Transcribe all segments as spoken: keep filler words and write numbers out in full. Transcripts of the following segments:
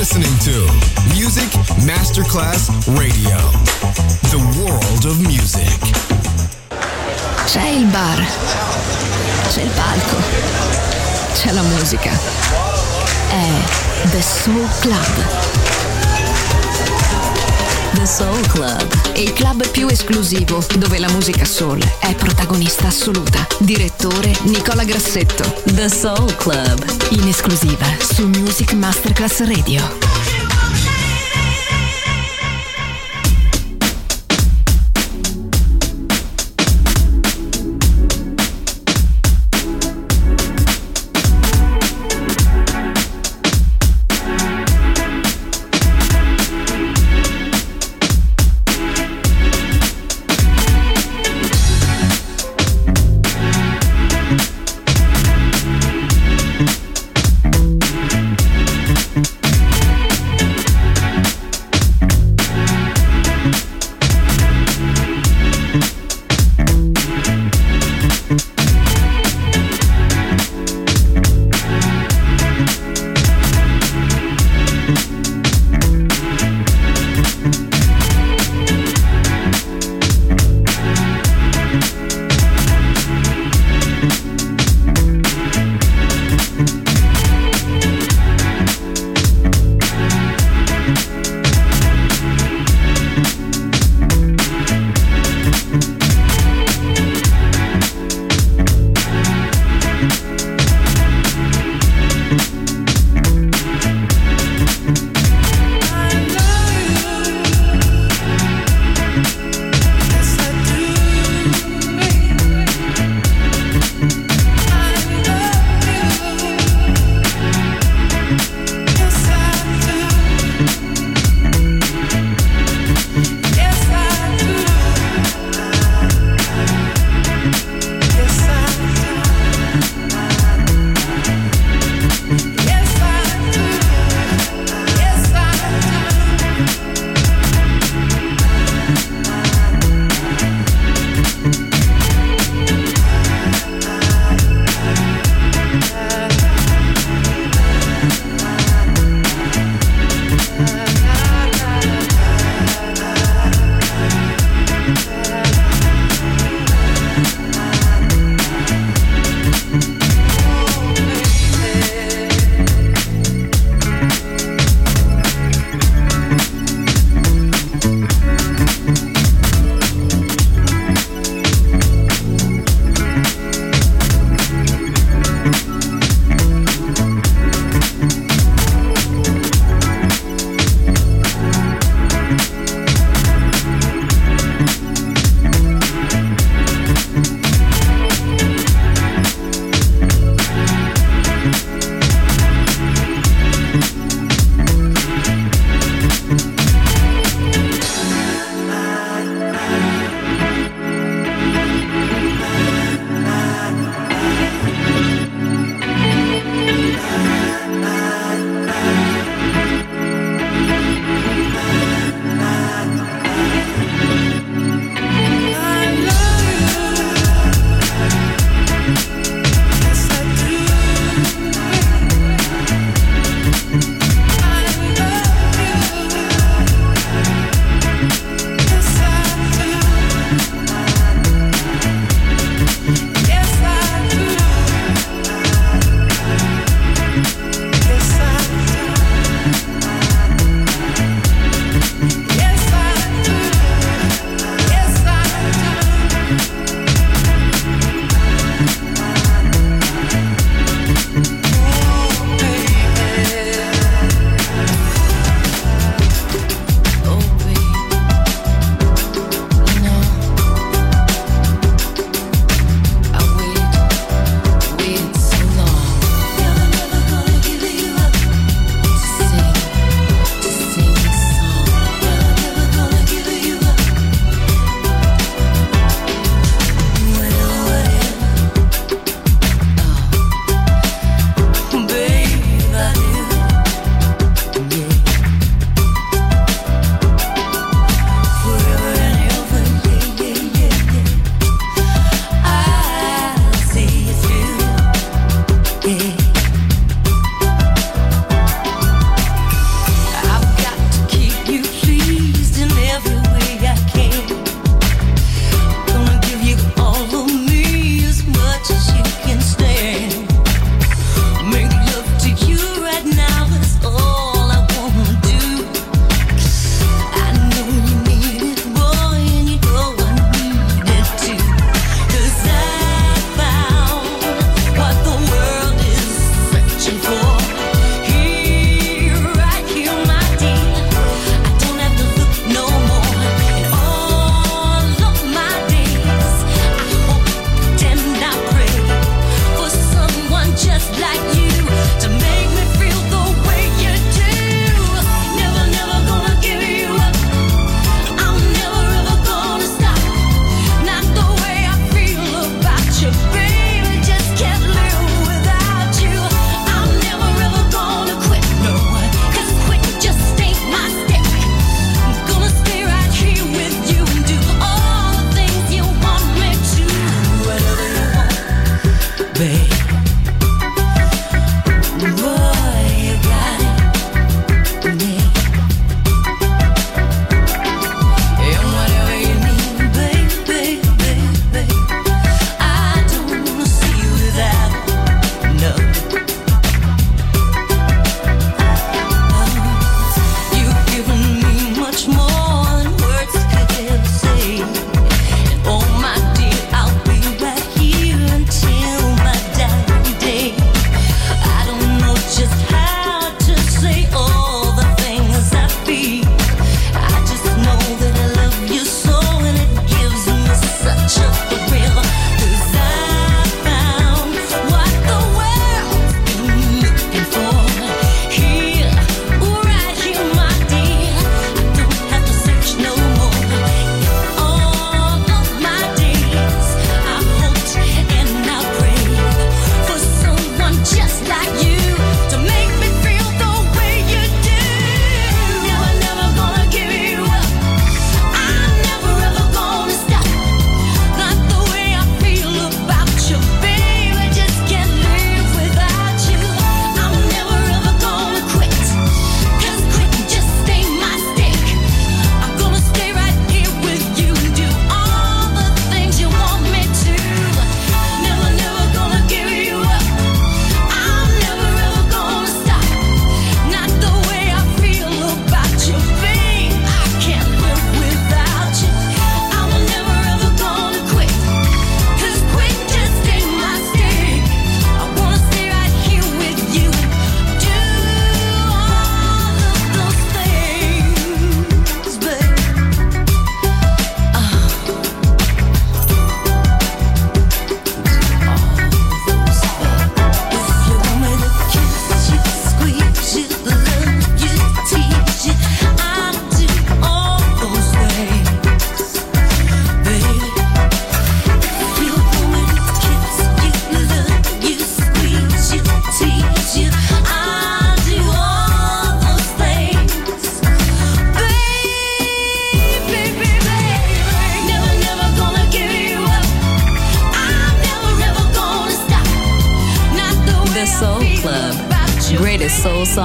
listening to Music Masterclass Radio. The world of music. C'è il bar, c'è il palco, c'è la musica. È The Soul Club. The Soul Club, il club più esclusivo dove la musica soul è protagonista assoluta. Direttore Nicola Grassetto. The Soul Club, in esclusiva su Music Masterclass Radio.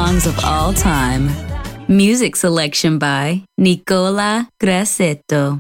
songs of all time. Music selection by Nicola Grassetto.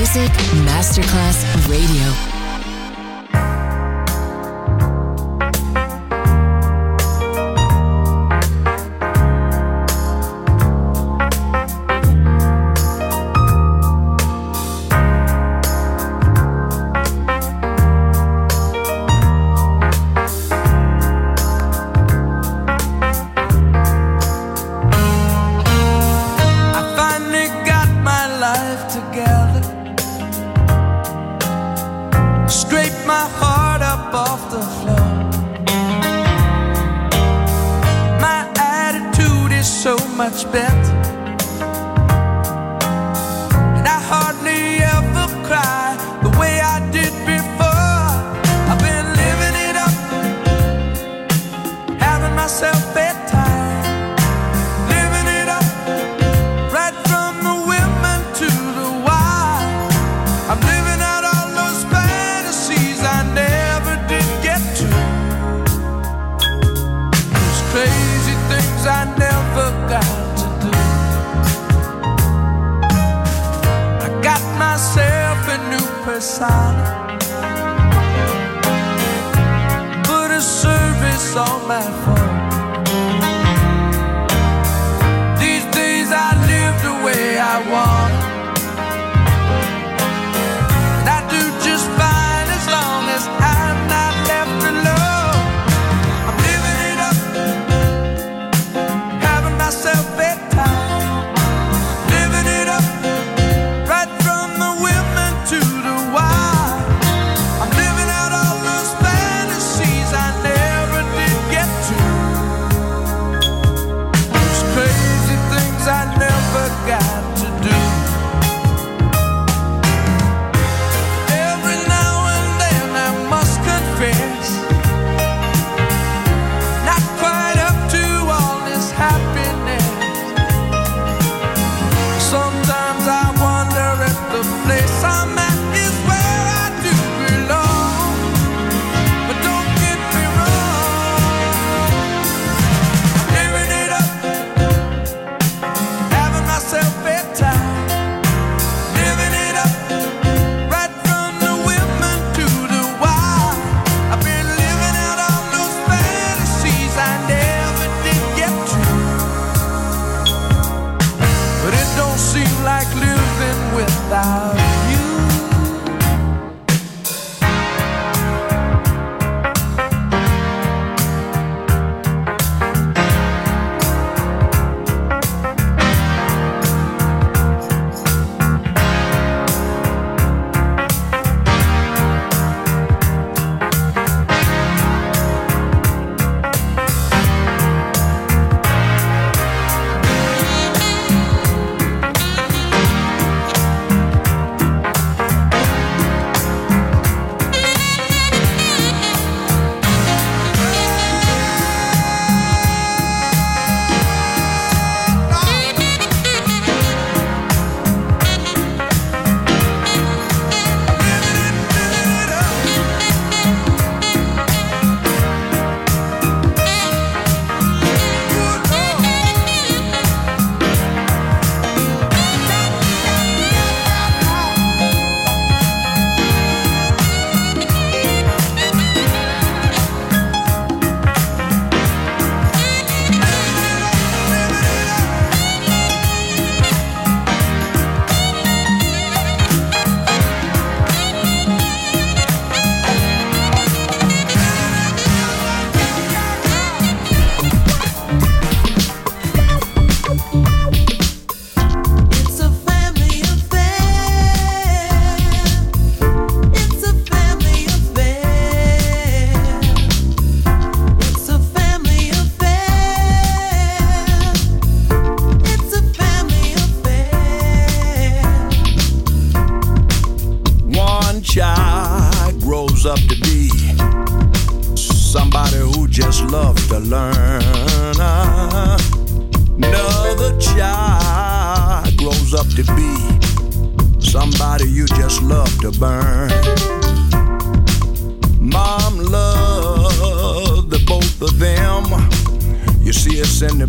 Music Masterclass Radio. Much better, and I hardly ever cry the way I did before. I've been living it up, having myself bedtime, living it up, right from the women to the wild. I'm living out all those fantasies I never did get to, those crazy things I never got. Myself a new persona, put a service on my phone. These days I live the way I want, and I do just fine as long as I'm not left alone. I'm living it up, having myself bedtime, living it up. I never got to do. Every now and then I must confess, not quite up to all this happiness. Sometimes I wonder if the place I'm at is where I do belong. But don't get me wrong, I'm living it up, myself bedtime, living it up, right from the women to the wild. I've been living out all those fantasies I never did get to, but it don't seem like living without you.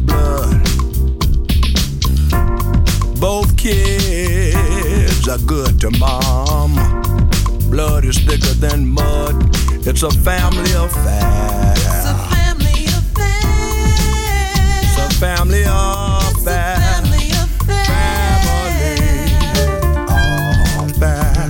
Both kids are good. to mom. Blood is thicker than mud. It's a family affair. It's a family affair. It's a family affair. Family affair. Family affair.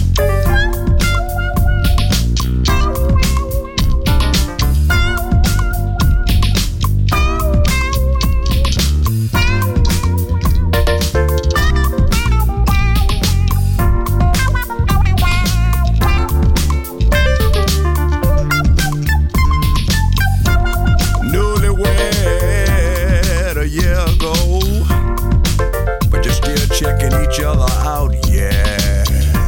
Checking each other out, yeah.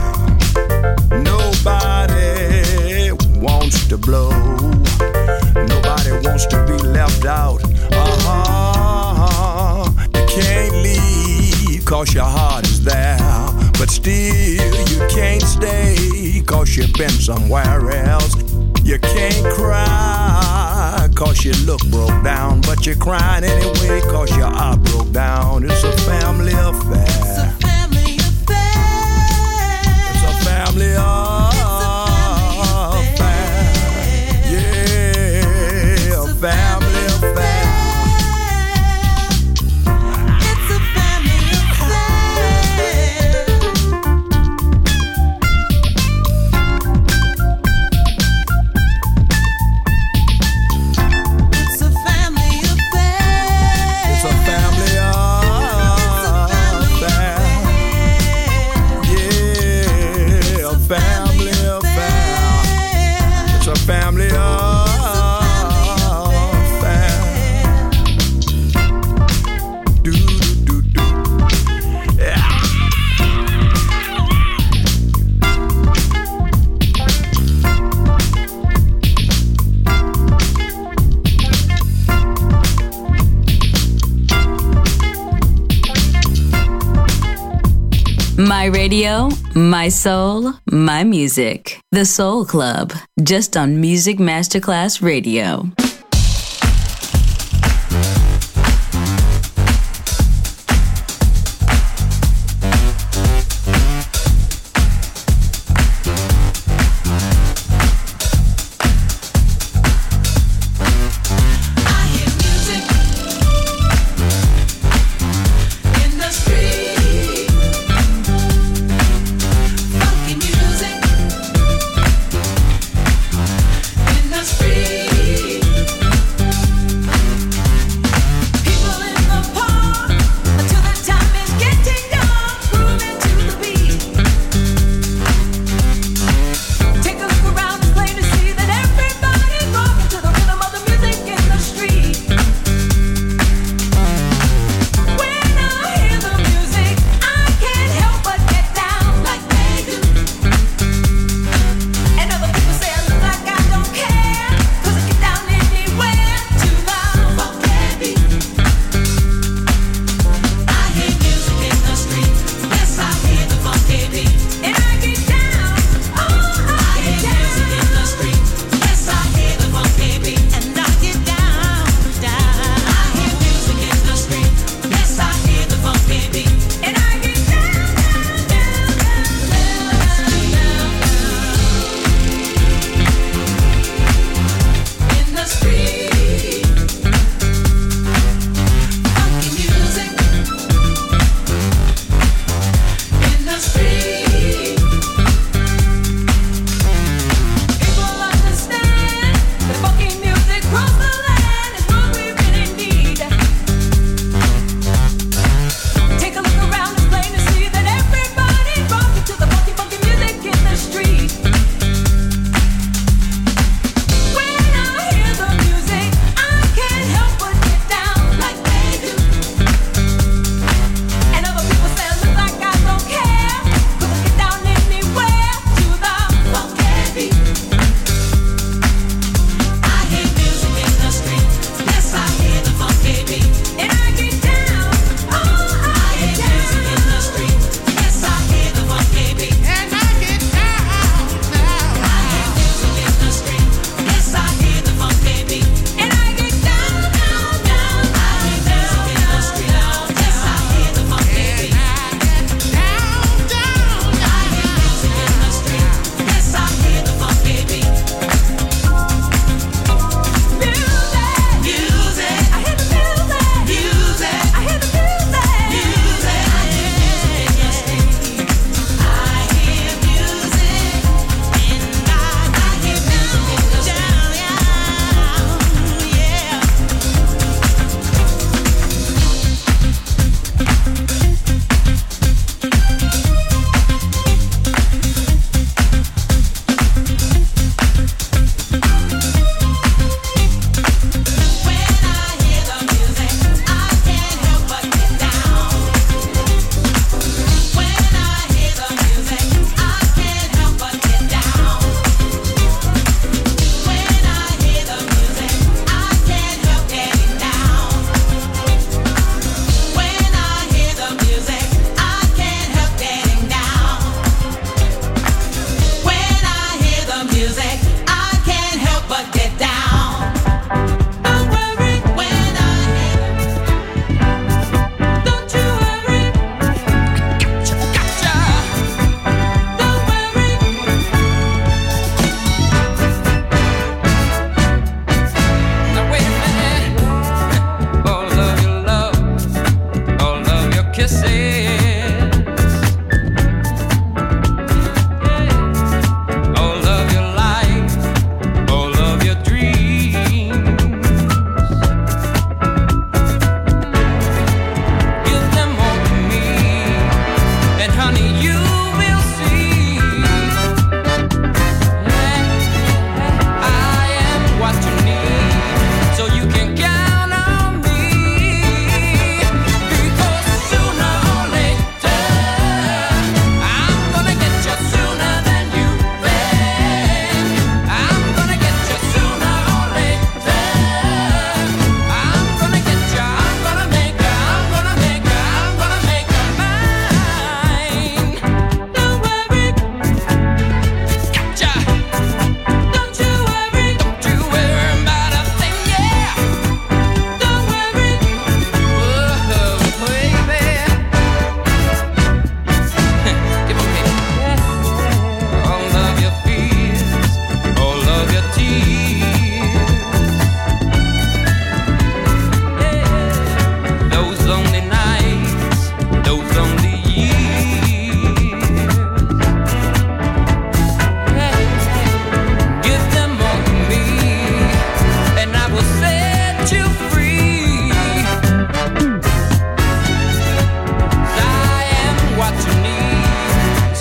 Nobody wants to blow. Nobody wants to be left out. Uh-huh. You can't leave cause your heart is there. But still you can't stay cause you've been somewhere else. You can't cry cause you look broke down. But you're crying anyway cause your heart broke down. It's a family affair. It's a family affair. It's a family affair. Yeah, a family affair. It's a family affair. It's a family affair. It's a family affair. Yeah, a family affair. It's a family affair. Do do do do. Yeah. My radio, my soul, my music. The Soul Club, just on Music Masterclass Radio.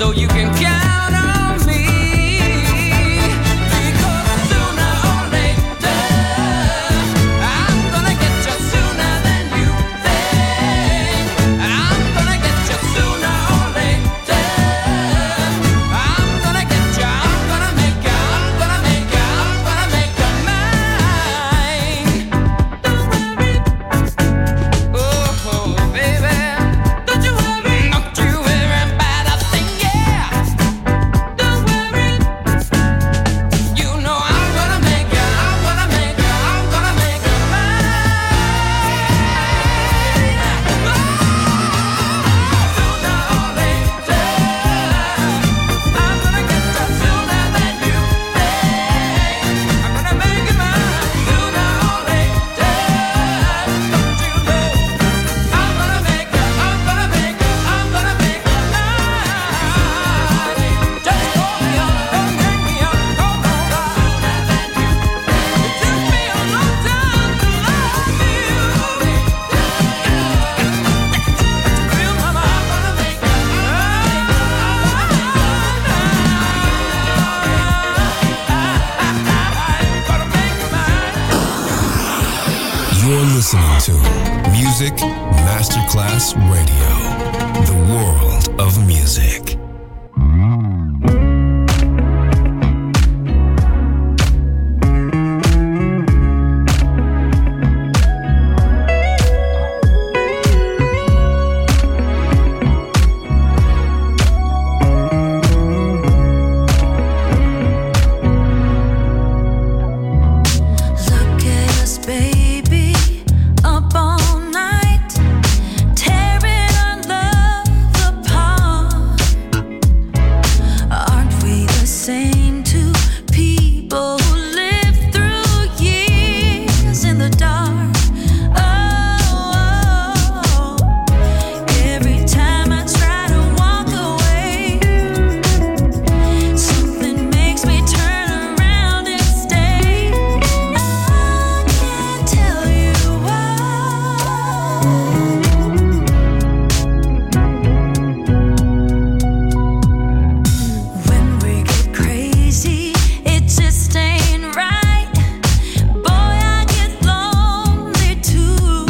so you can count on me. Because sooner or later, I'm gonna get you sooner than you think. I'm gonna get you sooner or later. I'm gonna get you, I'm gonna make you, I'm gonna make you, I'm gonna make you mine. Don't worry, oh baby, don't you worry, don't you worry about a thing, yeah. Don't worry, you know I'm gonna make you, I'm gonna make you, I'm gonna make you mine. Sooner or later, I'm gonna get you sooner than you think. I'm gonna make you mine. Sooner or later, don't you know I'm gonna make you, I'm gonna make you, I'm gonna make you mine. Just call me up, don't hang me up, come on right. It took me a long time to love you. Real mama, I'm gonna make you mine. Gonna make you mine. You're listening to Music Masterclass Radio, the world of music. Look at us, baby, up all night, tearing our love apart. Aren't we the same two people who lived through years in the dark? Oh, every time I try to walk away, something makes me turn around and stay. I can't tell you why. When we get crazy, it just ain't right. Boy, I get lonely too.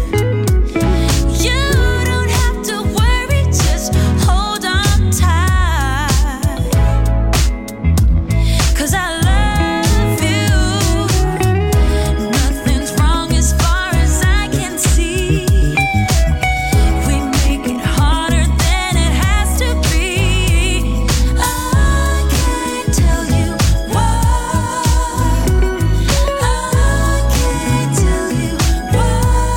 You don't have to worry, just hold on tight. 'Cause I love you. Nothing's wrong as far as I can see. We make it harder than it has to be. I can't tell you why. I can't tell you why.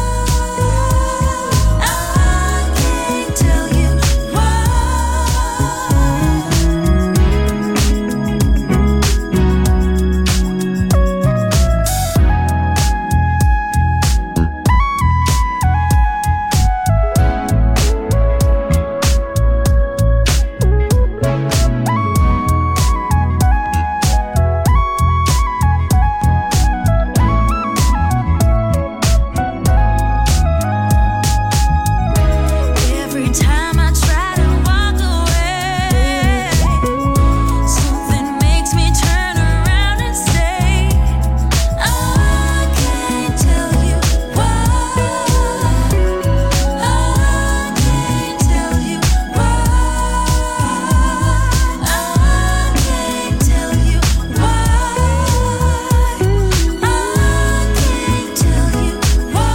I can't tell you why. Every time I try to walk away, something makes me turn around and stay. I can't tell you why. I can't tell you why. I can't tell you why. I can't tell you why.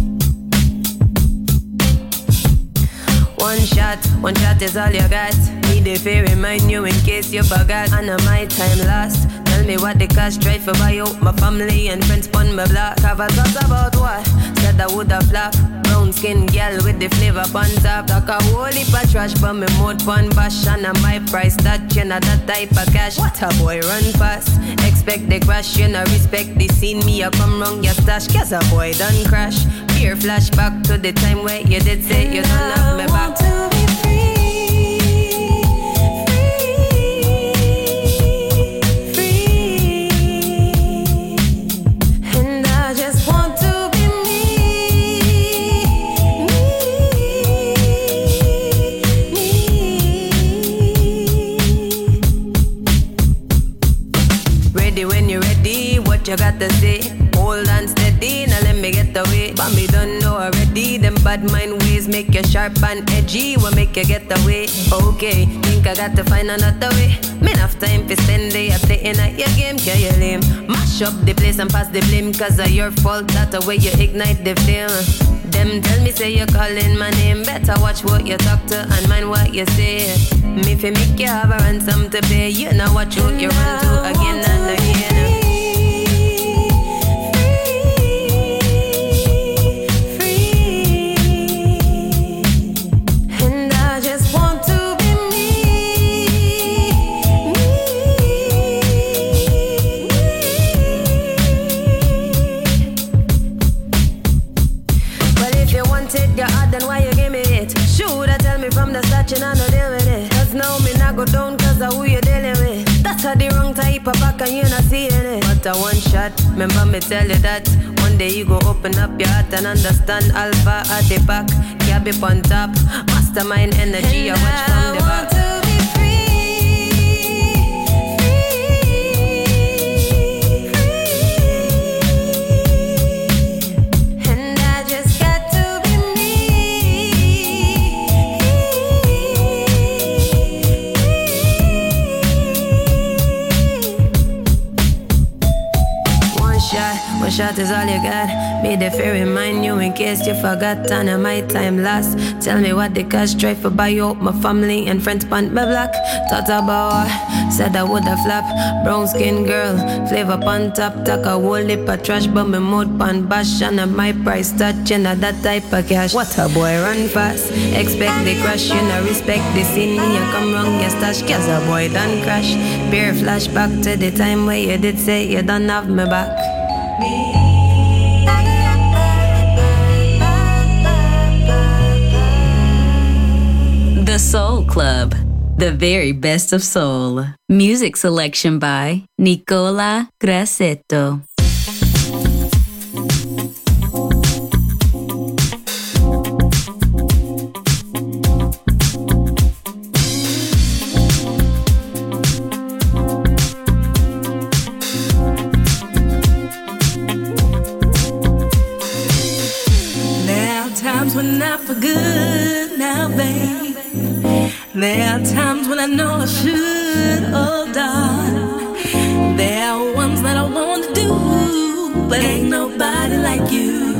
One shot, one shot is all you got. Me the fear remind you in case you forgot. And my time last. Tell me what the cash drive for buy out my family and friends pon my block. Have a thought about what? Said I woulda flop. Brown skin gal with the flavor pon top. Talk a whole heap of trash but me mouth pon bash. And a my price that you know that type of cash. What a boy run fast. Expect the crash, you know respect the scene. Me a come wrong your stash. Cause a boy done crash. Fear flashback to the time where you did say you don't have me back. To be free. You got to say, hold on steady, now let me get away. But me don't know already, them bad mind ways make you sharp and edgy, will make you get away. Okay, think I got to find another way. Me enough time for spend day at playing at your game, can you lame? Mash up the place and pass the blame, cause of your fault, that's the way you ignite the flame. Them tell me say you're calling my name, better watch what you talk to and mind what you say. Me fi make you have a ransom to pay, you know watch what you run to again and again. You know, no deal with it. Cause now me not go down cause of who you dealing with. That's how the wrong type of back and you not seeing it. But a one shot, remember me tell you that. One day you go open up your heart and understand Alpha at the back, Gabby on top. Mastermind energy, I watch from the back. Shot is all you got. Be the fear remind you in case you forgot. And my time last. Tell me what the cash drive for buy out my family and friends pon my block. Thought about said I woulda flop. Brown skin girl, flavor pon top. Talk a whole heap of trash, but me mouth pon bash. And my price touching at that type of cash. What a boy run fast. Expect the crash, you know respect the scene. You come wrong, you stash. Cause a boy done crash. Beer flashback to the time where you did say you don't have me back. The Soul Club, the very best of soul. Music selection by Nicola Grassetto. When I for good now, babe. There are times when I know I should hold on. There are ones that I want to do, but ain't nobody like you.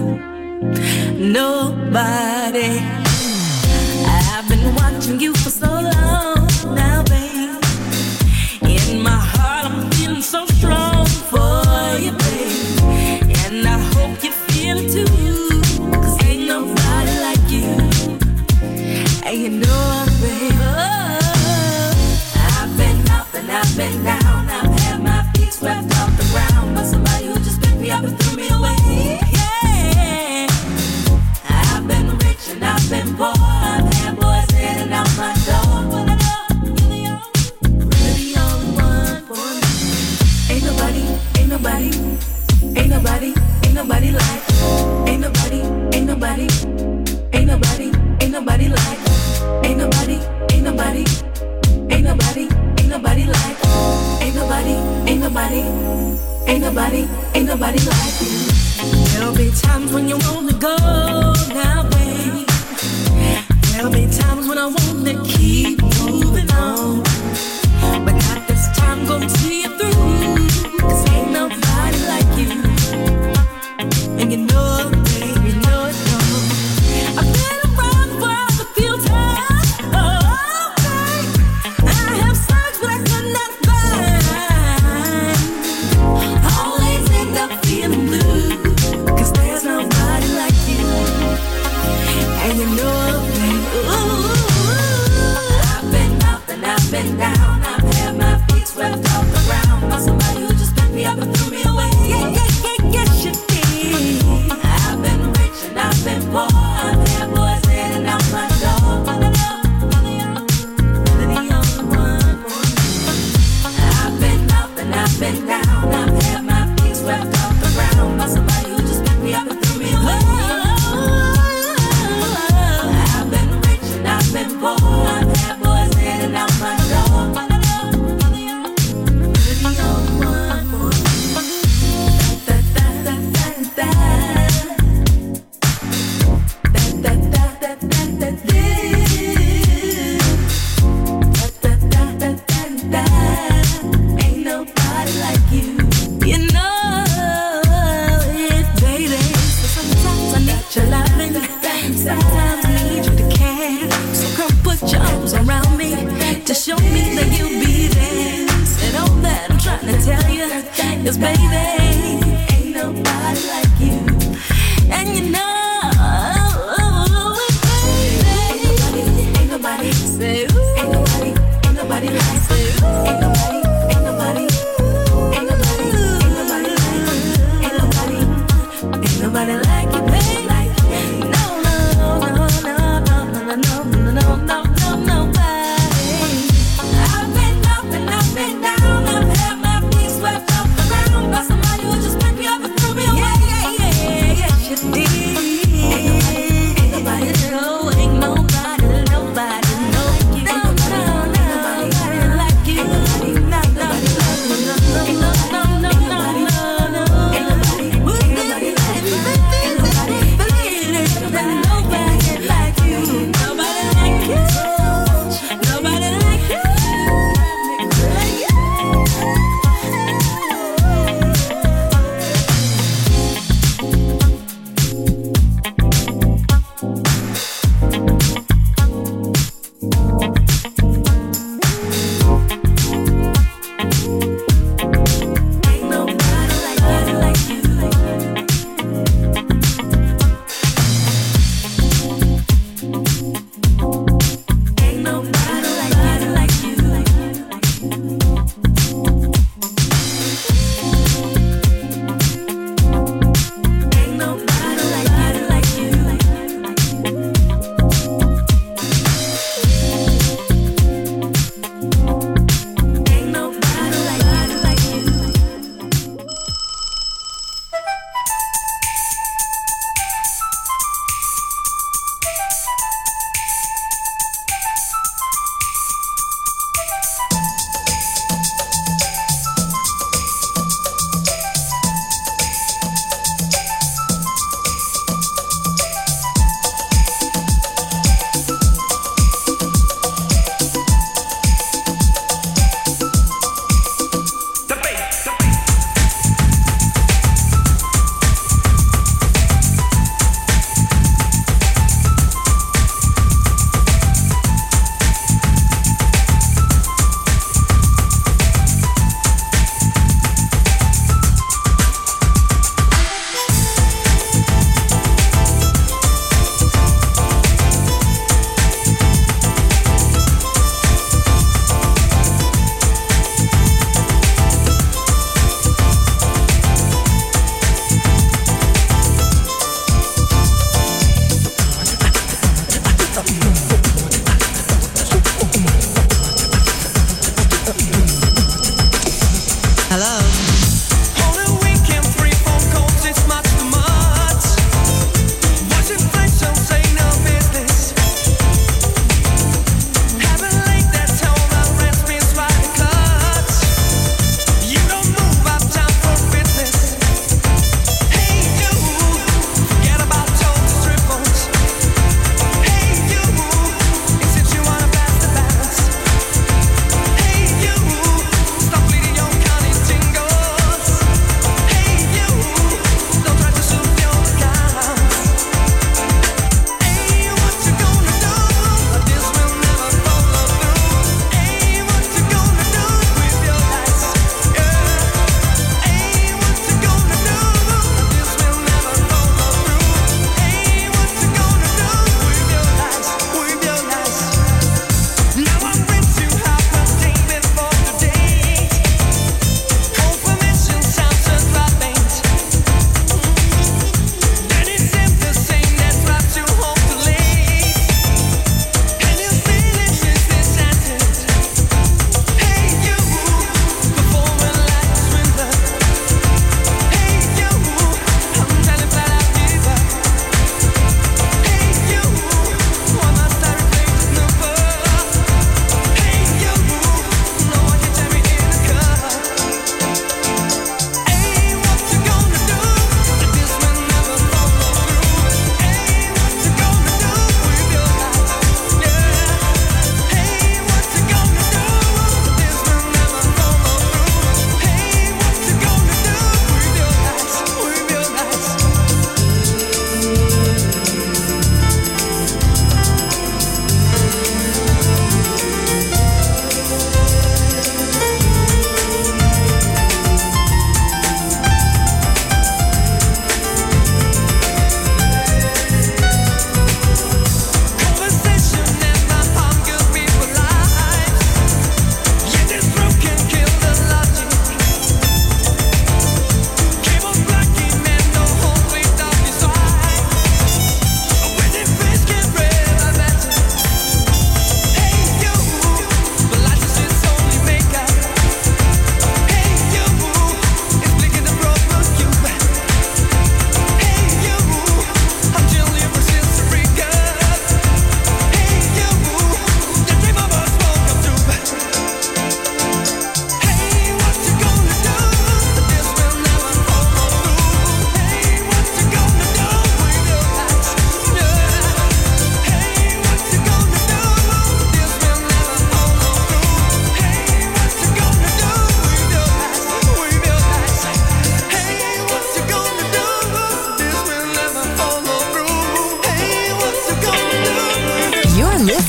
Nobody. I've been watching you for so long now, babe. In my heart I'm feeling so strong for you, babe. And I hope you feel it too. And you know, baby, oh, I've been up and I've been down. I've had my feet swept off the ground, but somebody who just picked me up and threw me away. Yeah, I've been rich and I've been poor. I've had boys in and out my door, but I know you're the only, really the only one for me. Ain't nobody, ain't nobody, ain't nobody, ain't nobody like. Ain't nobody, ain't nobody, ain't nobody, ain't nobody like. Ain't nobody, ain't nobody, ain't nobody, ain't nobody like. Ain't nobody, ain't nobody, ain't nobody, ain't nobody like you. There'll be times when you wanna go now, baby. There'll be times when I wanna keep moving on, but not this time, gonna see you through. Cause ain't nobody like you. And you know it, baby, you know it, no. I've been around the world a few times. Oh, baby. I've been down, I've had my feet swept off the ground by somebody who just picked me up and threw me away. I've been rich and I've been poor, I've had boys in and out my door. Sometimes I need you to care. So come put your arms around me to show me that you'll be there. And all that I'm trying to tell you is, baby, ain't nobody like you. And you know, baby, ain't nobody, say, ain't nobody, ain't nobody like you. Ain't nobody, ain't nobody, ain't nobody, ain't nobody like you. Ain't nobody, ain't nobody like you, baby. No, no, no, no, no, nobody. I've been up and up and down. I've had my feet swept off the ground by somebody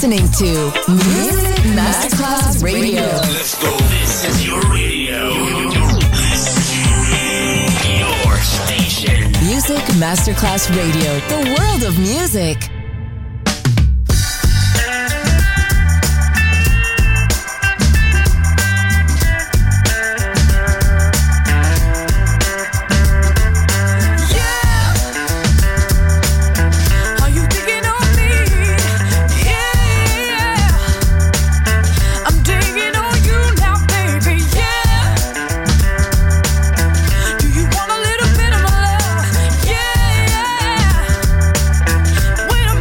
listening to Music Masterclass Radio. Let's go. This is your radio. Your station. Music Masterclass Radio. The world of music. Wait a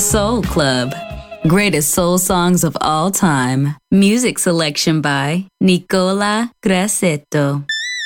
Soul Club. Greatest soul songs of all time. Music selection by Nicola Grassetto.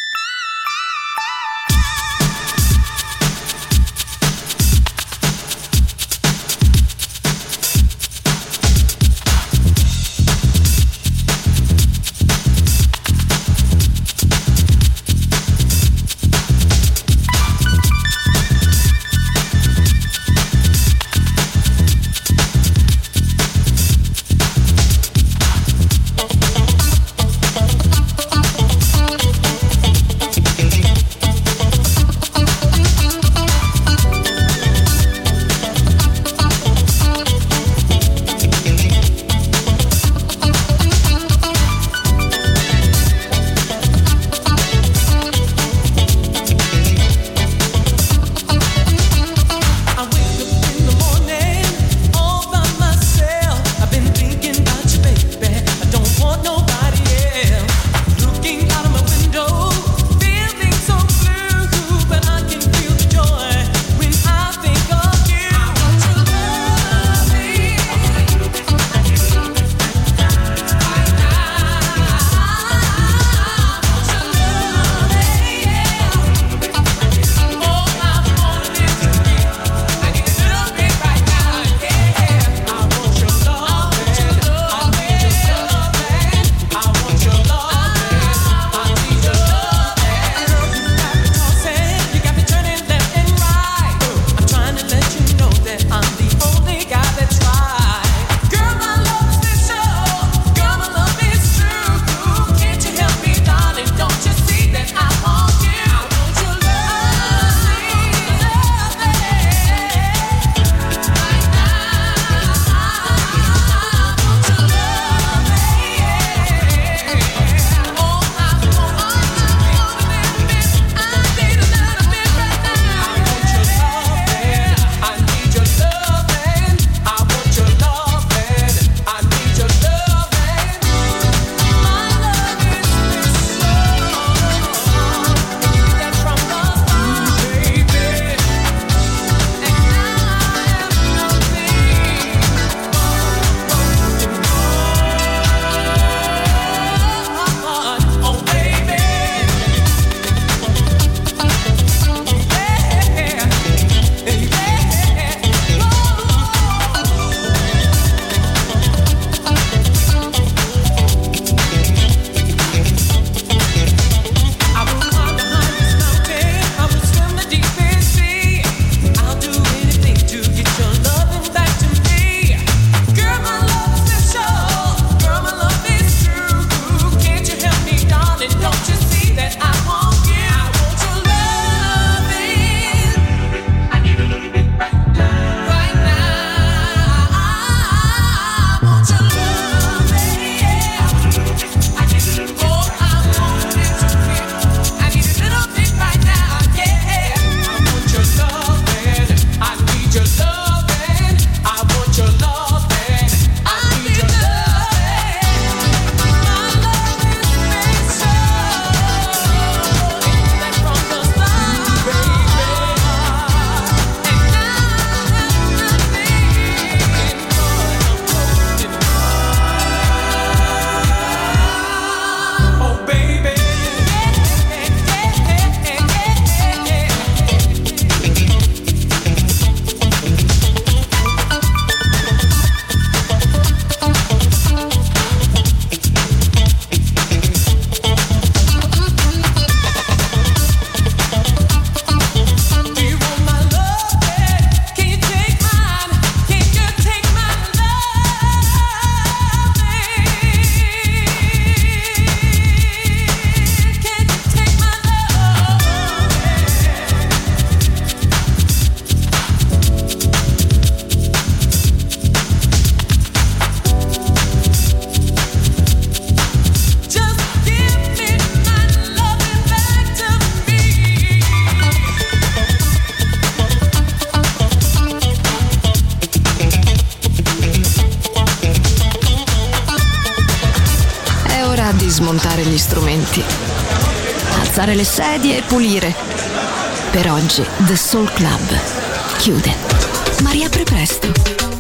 smontare gli strumenti, alzare le sedie e pulire. Per oggi The Soul Club chiude, ma riapre presto.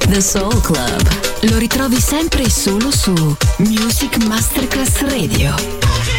The Soul Club. Lo ritrovi sempre e solo su Music Masterclass Radio.